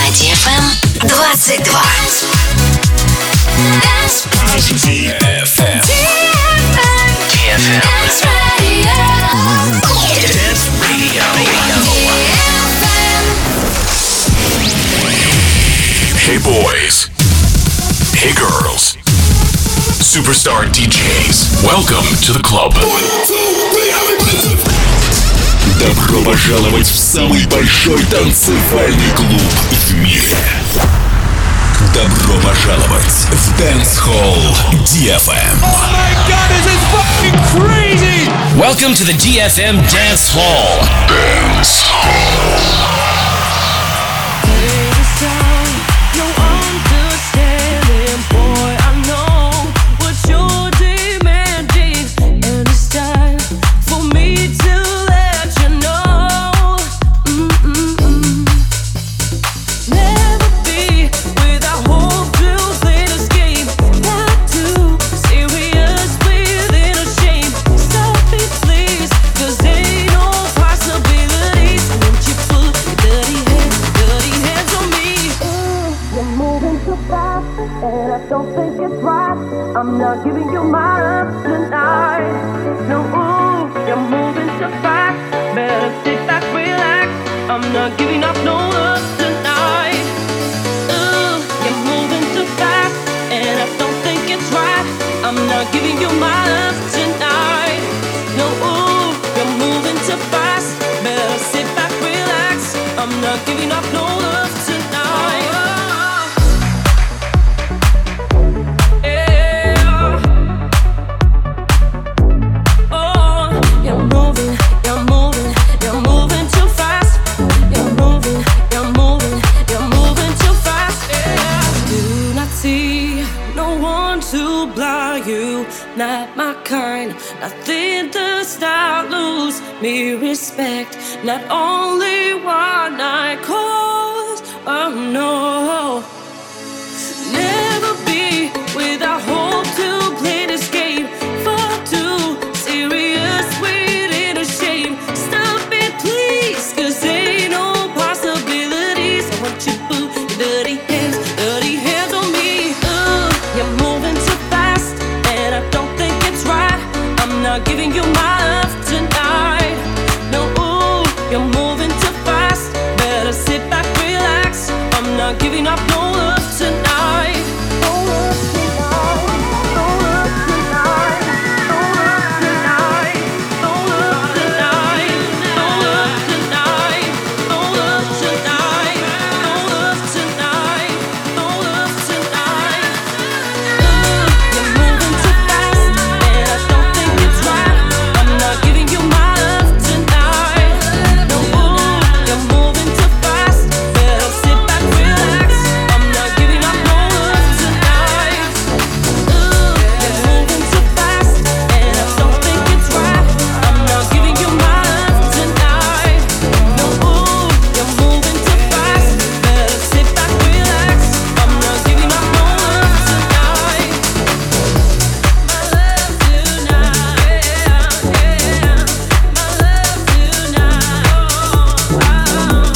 DFM 22. DFM. Dance Radio. Dance Radio. Hey boys. Hey girls. Superstar DJs. Welcome to the club. Добро пожаловать в самый большой танцевальный клуб в мире. Добро пожаловать в Dance Hall DFM. Oh my God, this is fucking crazy! Welcome to the DFM Dance Hall. Dance Hall. I'm not giving you my love tonight. No, you're moving so fast. Better sit back, relax. I'm not giving up no love tonight. You're moving too fast, and I don't think it's right. I'm not giving you my love tonight. No, you're moving too fast. Better sit back, relax. I'm not giving up no love tonight. Not my kind, nothing does not lose me respect. Not only one night calls, oh no. Never be without hope to play this game. Far too serious, waiting a shame. Stop it please, cause ain't no possibilities. I want you to put your dirty hands on me. You're moving too fast, and I don't think it's right. I'm not giving you my love tonight. No, you're moving too fast. Better sit back, relax. I'm not giving up no love tonight. No love tonight. No love tonight. No love tonight. No love tonight. No love tonight. No love tonight. No love tonight. No love tonight. You're moving too fast, and I don't think it's right. I'm not giving you my love tonight. No, you're moving too fast. Better sit back, relax. I'm not giving up no love tonight. You're moving too fast, and I don't think it's right. I'm not giving you my love tonight. No, you're moving too fast. Better sit back, relax. I'm not giving up no love tonight. My love tonight, yeah. My love tonight, my love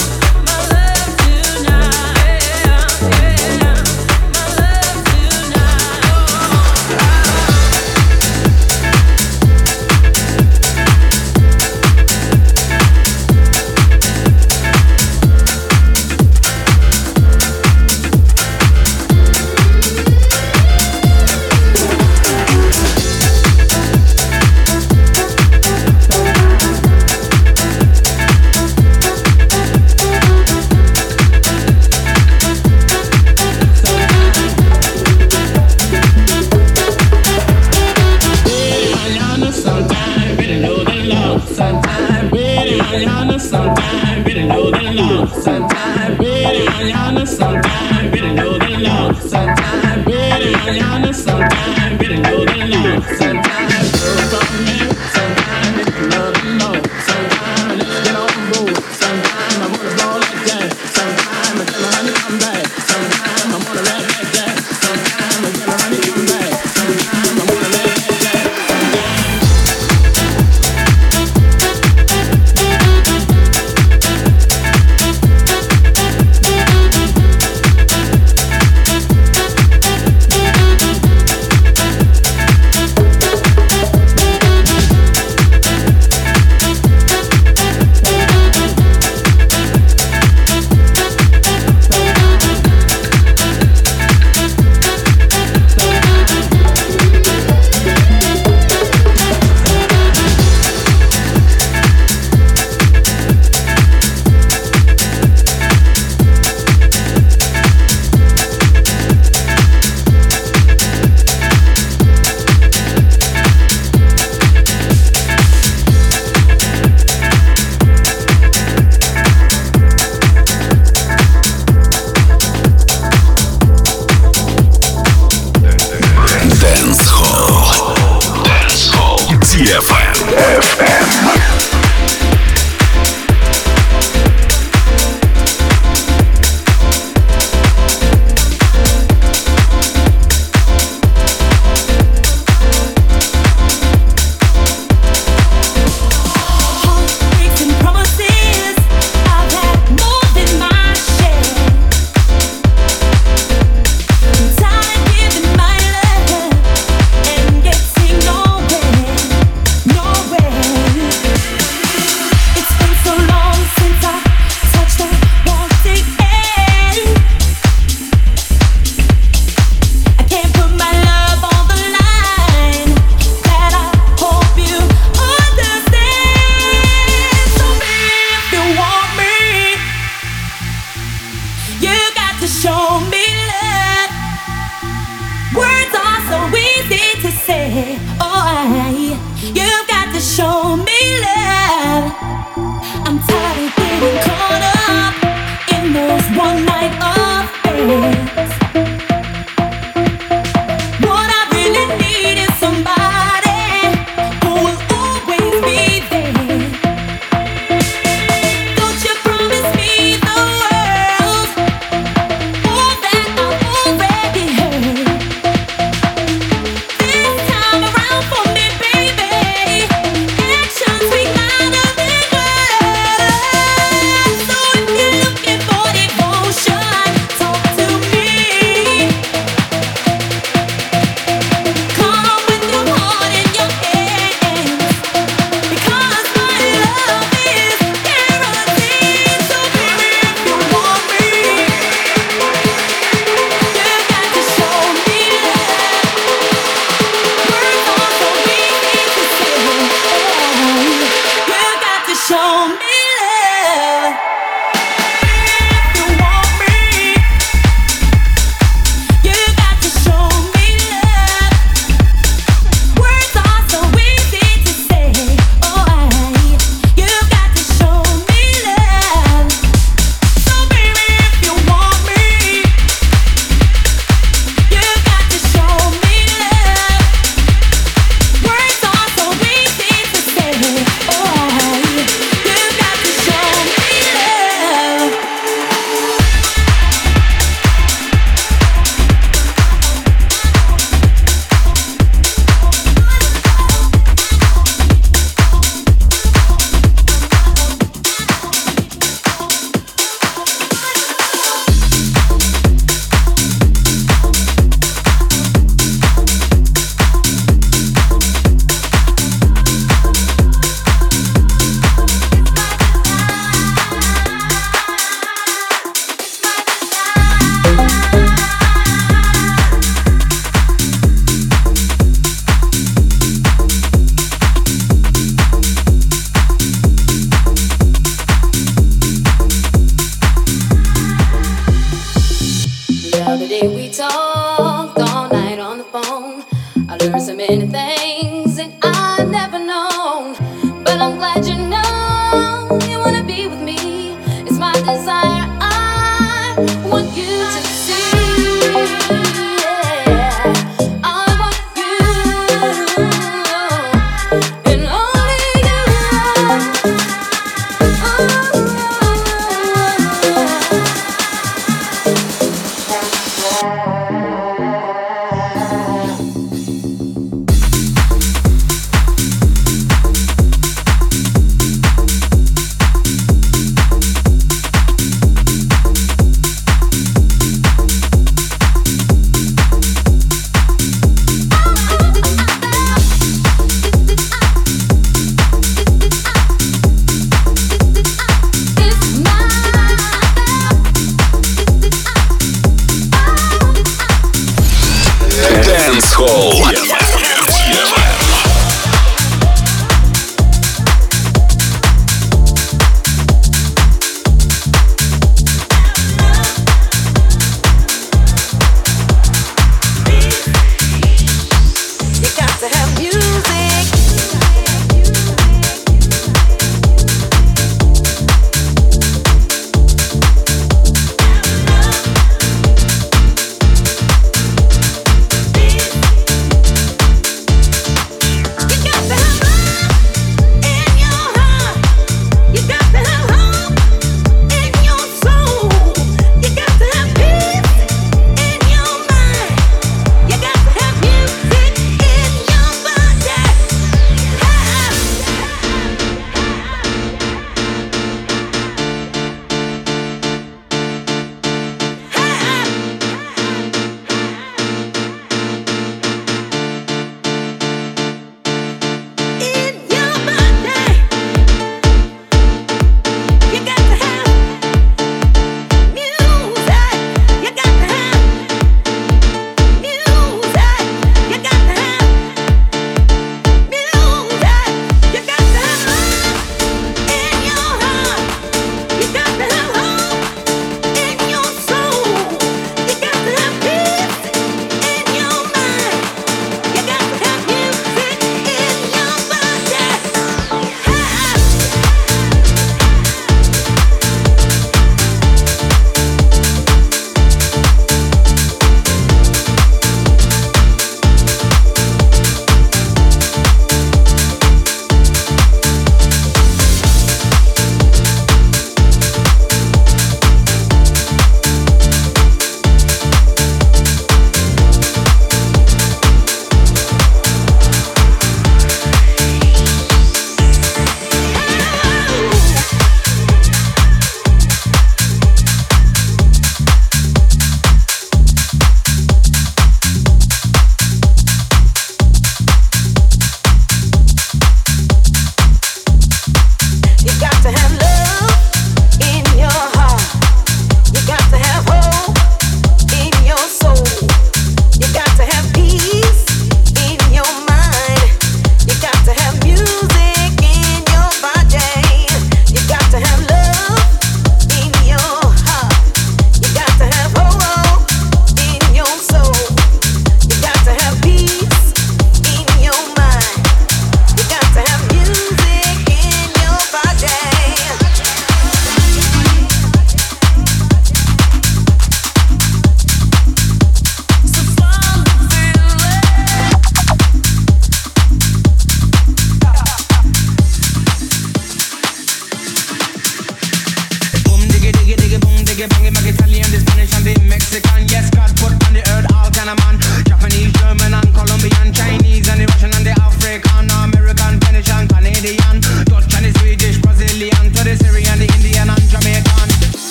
so many things that I never known, but I'm glad you know you wanna be with me. It's my desire. I want you to see. Yeah, I want you and only you.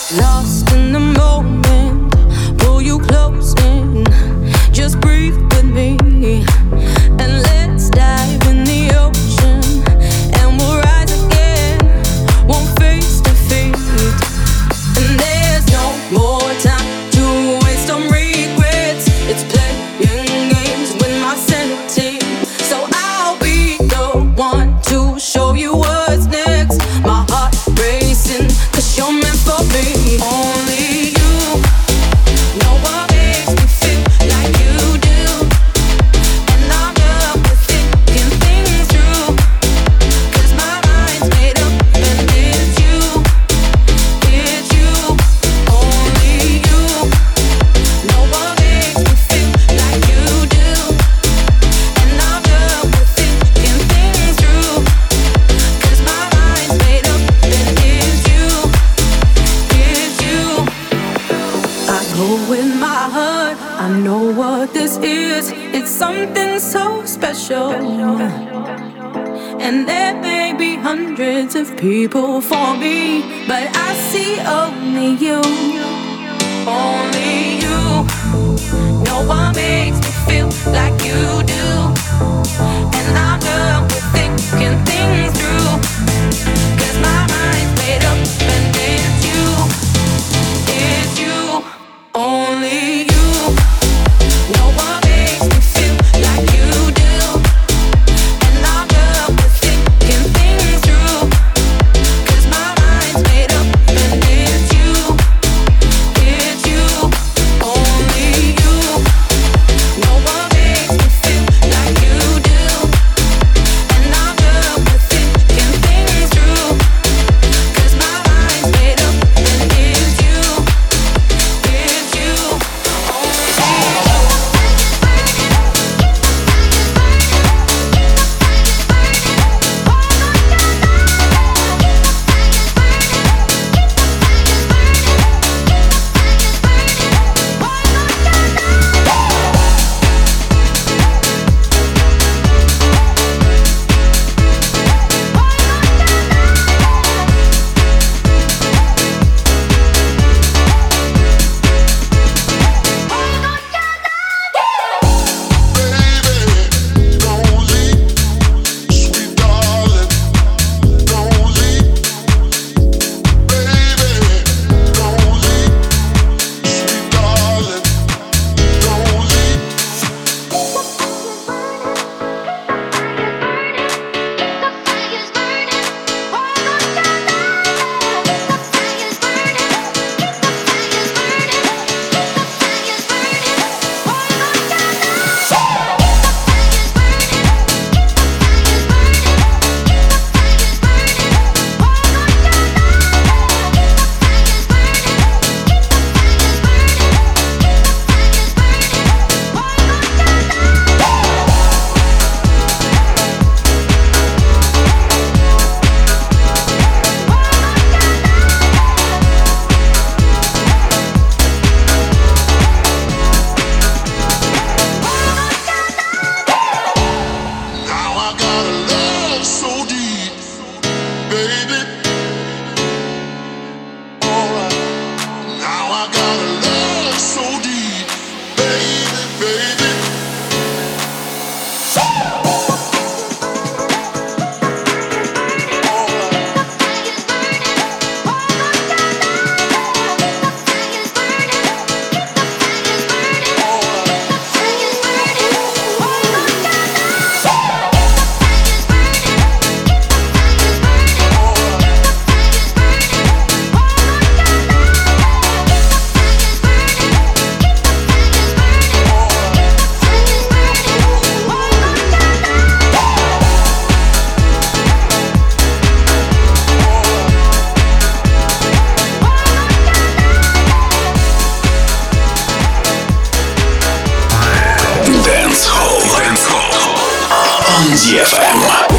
Lost in the moment, pull you close in. Just breathe with me, and let's dive in the ocean, and we'll rise again, one face to face. And there's no more time to waste on regrets. It's playing games with my sanity, so I'll be the one to show you what's next. My heart racing, 'cause you're meant for me. Only you know what makes me feel like you do, and I'm done with thinking things through, 'cause my mind's made up and it's you, it's you. Only you know what makes me feel like you do, and I'm done with thinking things through, 'cause my mind's made up and it's you, it's you. I go with my heart, I know what this is. It's something so special, and there may be hundreds of people for me, but I see only you. Only you know what makes me feel like you do, and I'm done with thinking things through, 'cause my mind's made up and it's you, it's you. Only you know what makes me feel like you do, and I'm done with thinking things through, 'cause my mind's made up and it's you, it's you. Only you know what makes me feel like you do, and I'm done with thinking things through, 'cause my mind's made up and it's you, it's you. DFM.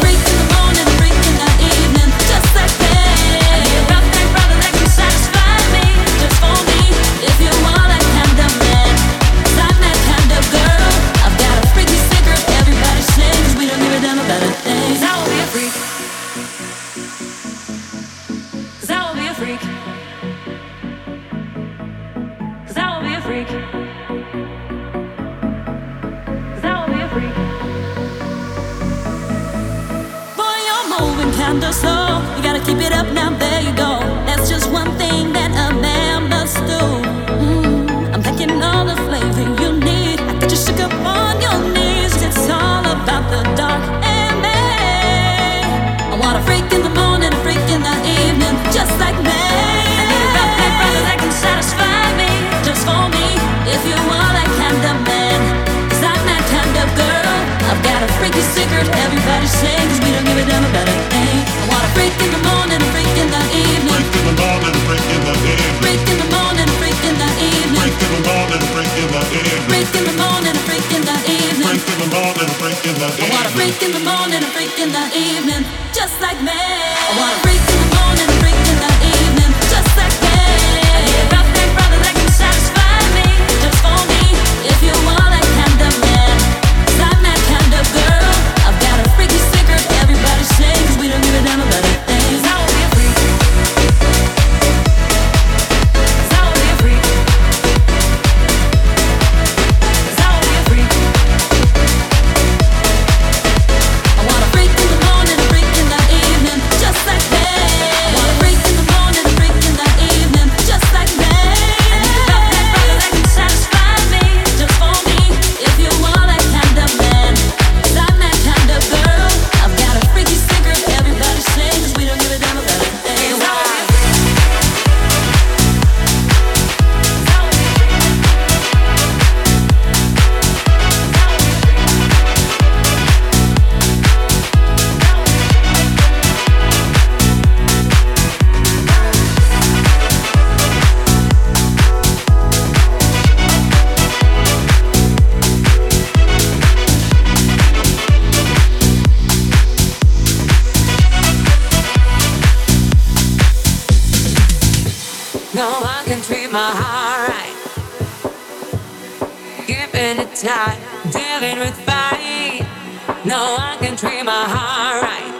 Satisfied freak. 'Cause I will be a freak. 'Cause I will be a freak. Boy, you're moving kinda slow. You gotta keep it up now, there you go. That's just one thing that a man must do. I'm thinking all the flavor you need. I get you shook up on your knees. It's all about the dark and me. I want a freak in the morning, a freak in the evening, just like me. I need a rough brother that can satisfy me, just for me. If you are that kind of man, 'cause I'm that kind of girl. I've got a freaky secret, everybody sing, 'cause we don't give a damn about a thing. I want a freak in the morning, a freak in the evening. Freak in the morning, a freak in the evening. Freak in the morning, a freak in the evening. Freak in the morning, a freak in the evening. Freak in the morning, a freak in the evening. Freak in the morning, a freak in the evening. I want a freak in the morning, a freak in the evening, just like me. I want a freak in the morning, a freak in the evening, just like me. I need a rough big brother that can satisfy me, just for me. If you are that kind of man, 'cause I'm that kind of girl. I've got a freaky secret, everybody sing, 'cause we don't give a damn about a thing. 'Cause I will be a freak. 'Cause I will be a freak. 'Cause I will be a freak. I want a freak in the morning, a freak in the evening, just like me. I want a freak in the morning, a freak in the evening, just like me. I need a rough neck brother that can satisfy me, just for me. If you are that kind of man, 'cause I'm that kind of girl. I've got a freaky secret, everybody sing, 'cause we don't give a damn about a thing. 'Cause I will be a freak. 'Cause I will be a freak. 'Cause I will be a freak. No one can treat my heart right. Keeping it tight, dealing with fight. No one can treat my heart right.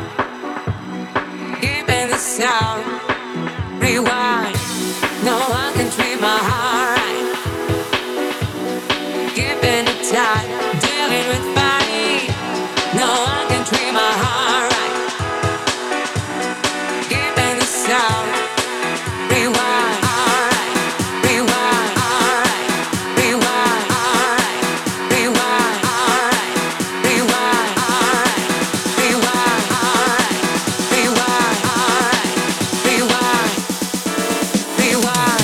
Keeping the sound, rewind. No one can treat my heart right. Keeping it tight, dealing with fight. No one can treat my heart right. Keeping the sound. Rewind, alright. Rewind, alright. Rewind, alright. Rewind, alright. Rewind, alright. Rewind, alright. Rewind, alright. Rewind. Rewind.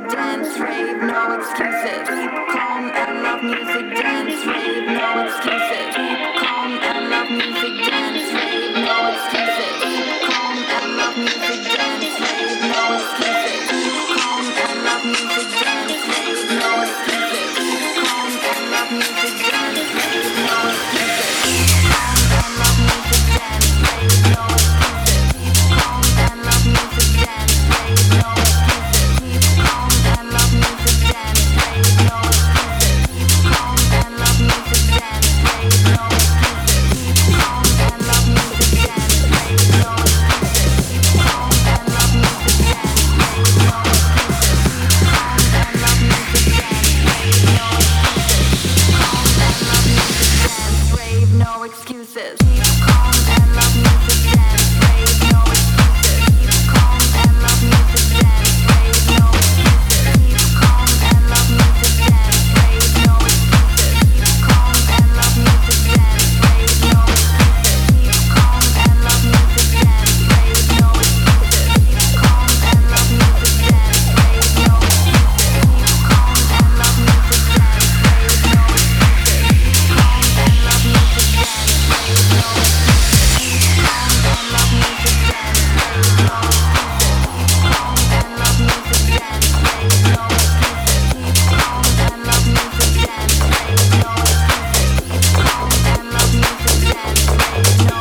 dance, rave, no excuses. Keep calm and love music, dance, rave, no excuses. Keep calm and love music, dance, rave, no excuses. Keep calm and love music, dance, rave, no excuses. Keep calm and love music, dance, rave, no excuses. Keep calm and love music, dance, rave, no excuses. Keep calm and love music, dance, rave, no excuses. Keep calm and love music, dance, rave, no excuses. Keep calm and love music, dance, rave, no excuses. Keep calm and love music, dance, rave, no excuses. Keep calm and love music, dance, rave, no excuses. Keep calm and love music, dance, rave, no excuses. Keep calm and love music, dance, rave, no excuses. Keep calm and love music, dance, rave, no excuses. Keep calm and love music, dance, rave, no excuses. Keep calm and love music, dance, rave, no excuses. Keep calm and love music, dance, rave, no excuses. Keep calm and love music, dance, rave, no excuses. Keep calm and love music, dance, rave, no excuses. Keep calm and love music, dance, rave, no excuses. Keep calm and love music, dance, rave, no excuses. Keep calm and love music, dance, rave, no excuses. Keep calm and love music, dance, rave, no excuses. Keep calm and love music, dance, rave, no excuses. Keep calm and love music, dance, rave, no excuses. Keep calm and love music, dance, rave, no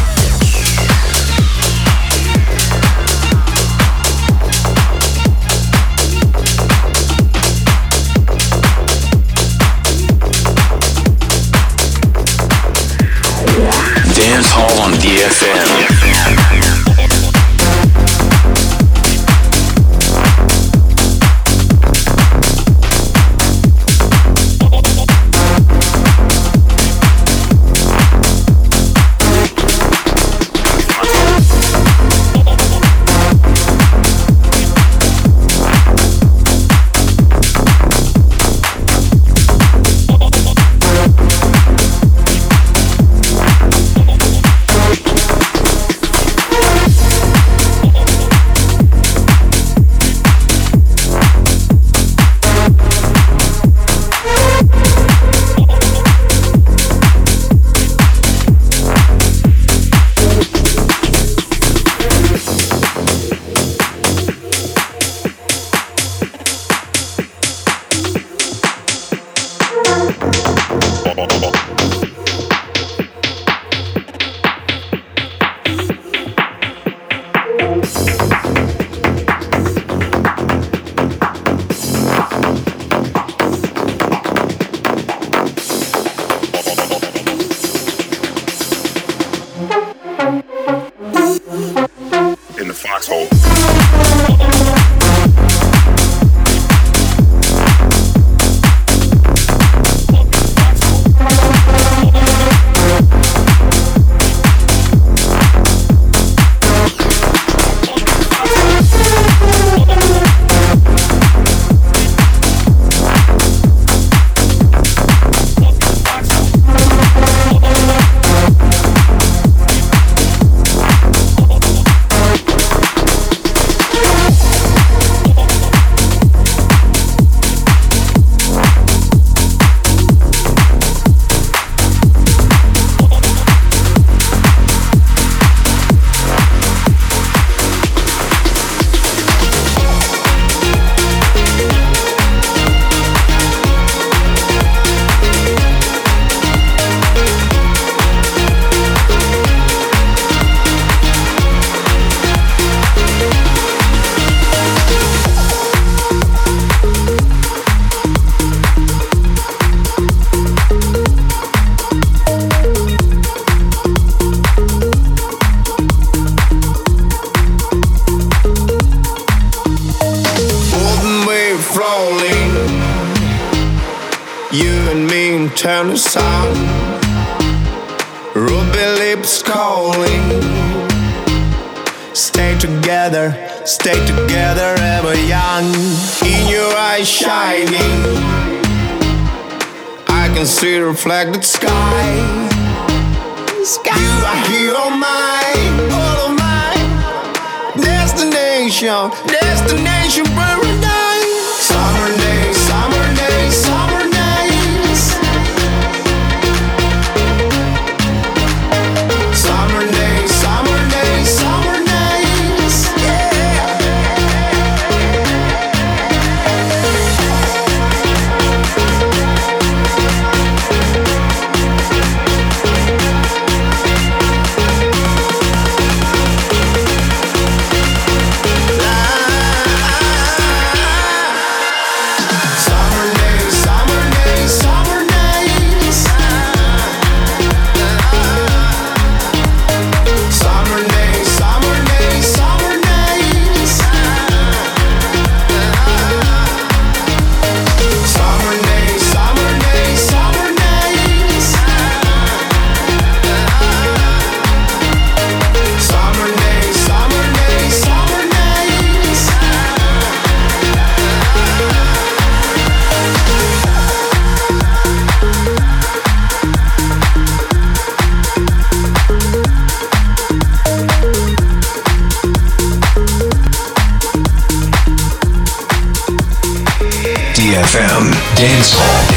Dance Hall on DFM. In the foxhole. Turn the sound, ruby lips calling. Stay together ever young. In your eyes shining, I can see the reflected sky. You are here on mine, all of mine. Destination paradise. DFM Dance Hall.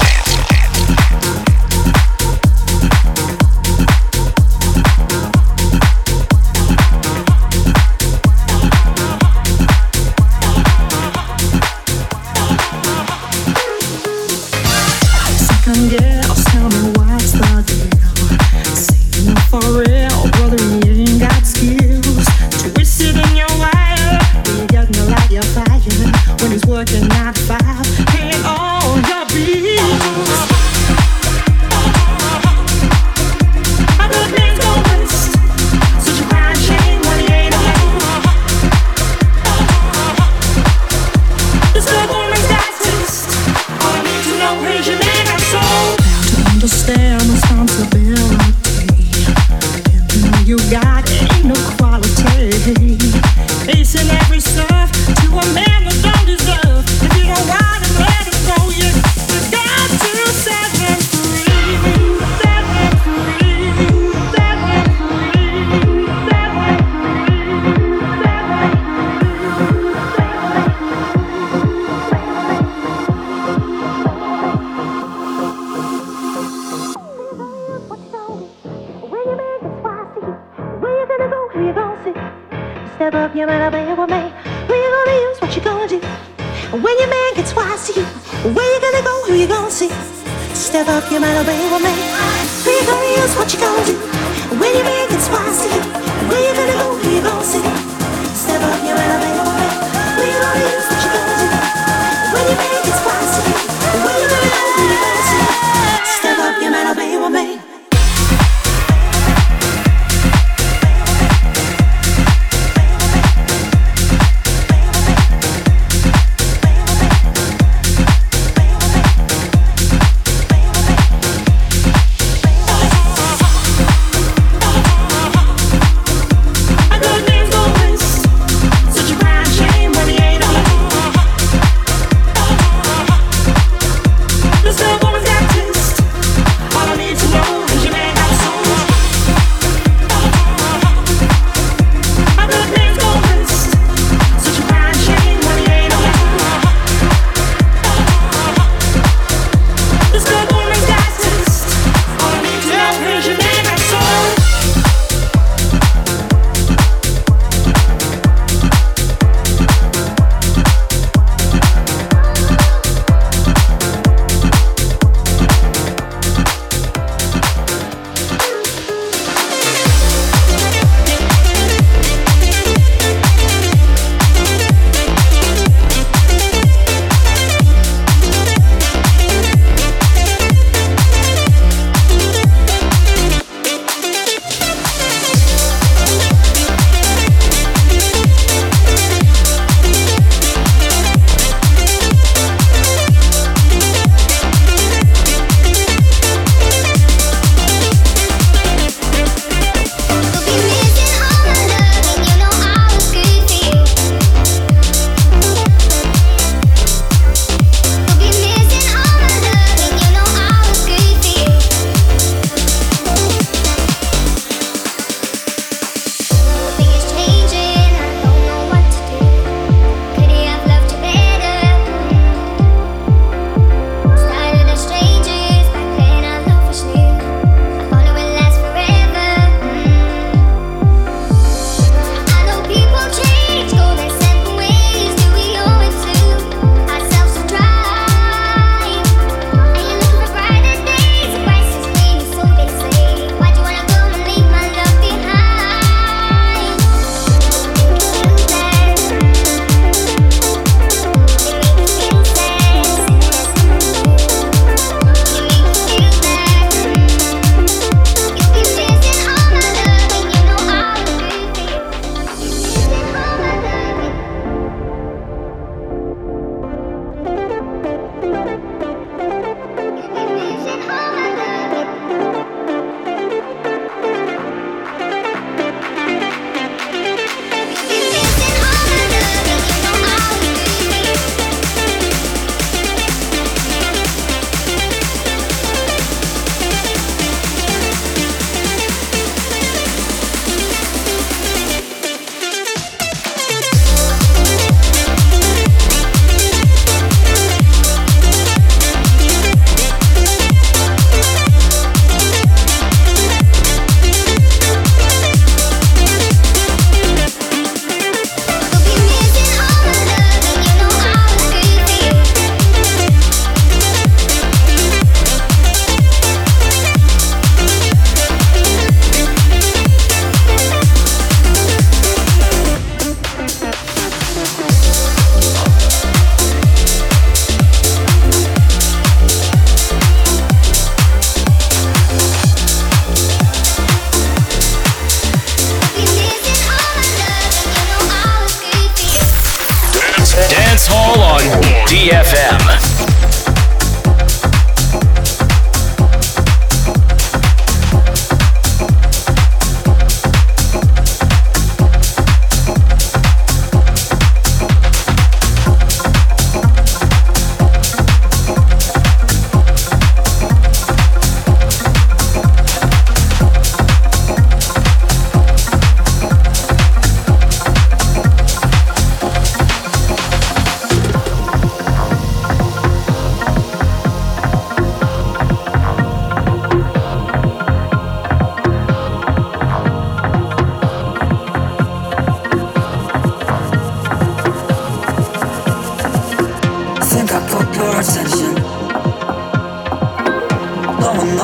Working 9 to 5, paying all your bills. Step up, you might obey with me. Who you gonna use? What you gonna do? When you make it spicy, where you gonna go? Who you gonna see? Step up, you might obey with me. Who you gonna use? What you gonna do? When you make it spicy, where you gonna go? Who you gonna see? Step up, you might obey with me.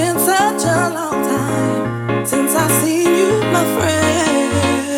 been such a long time since I seen you, my friend.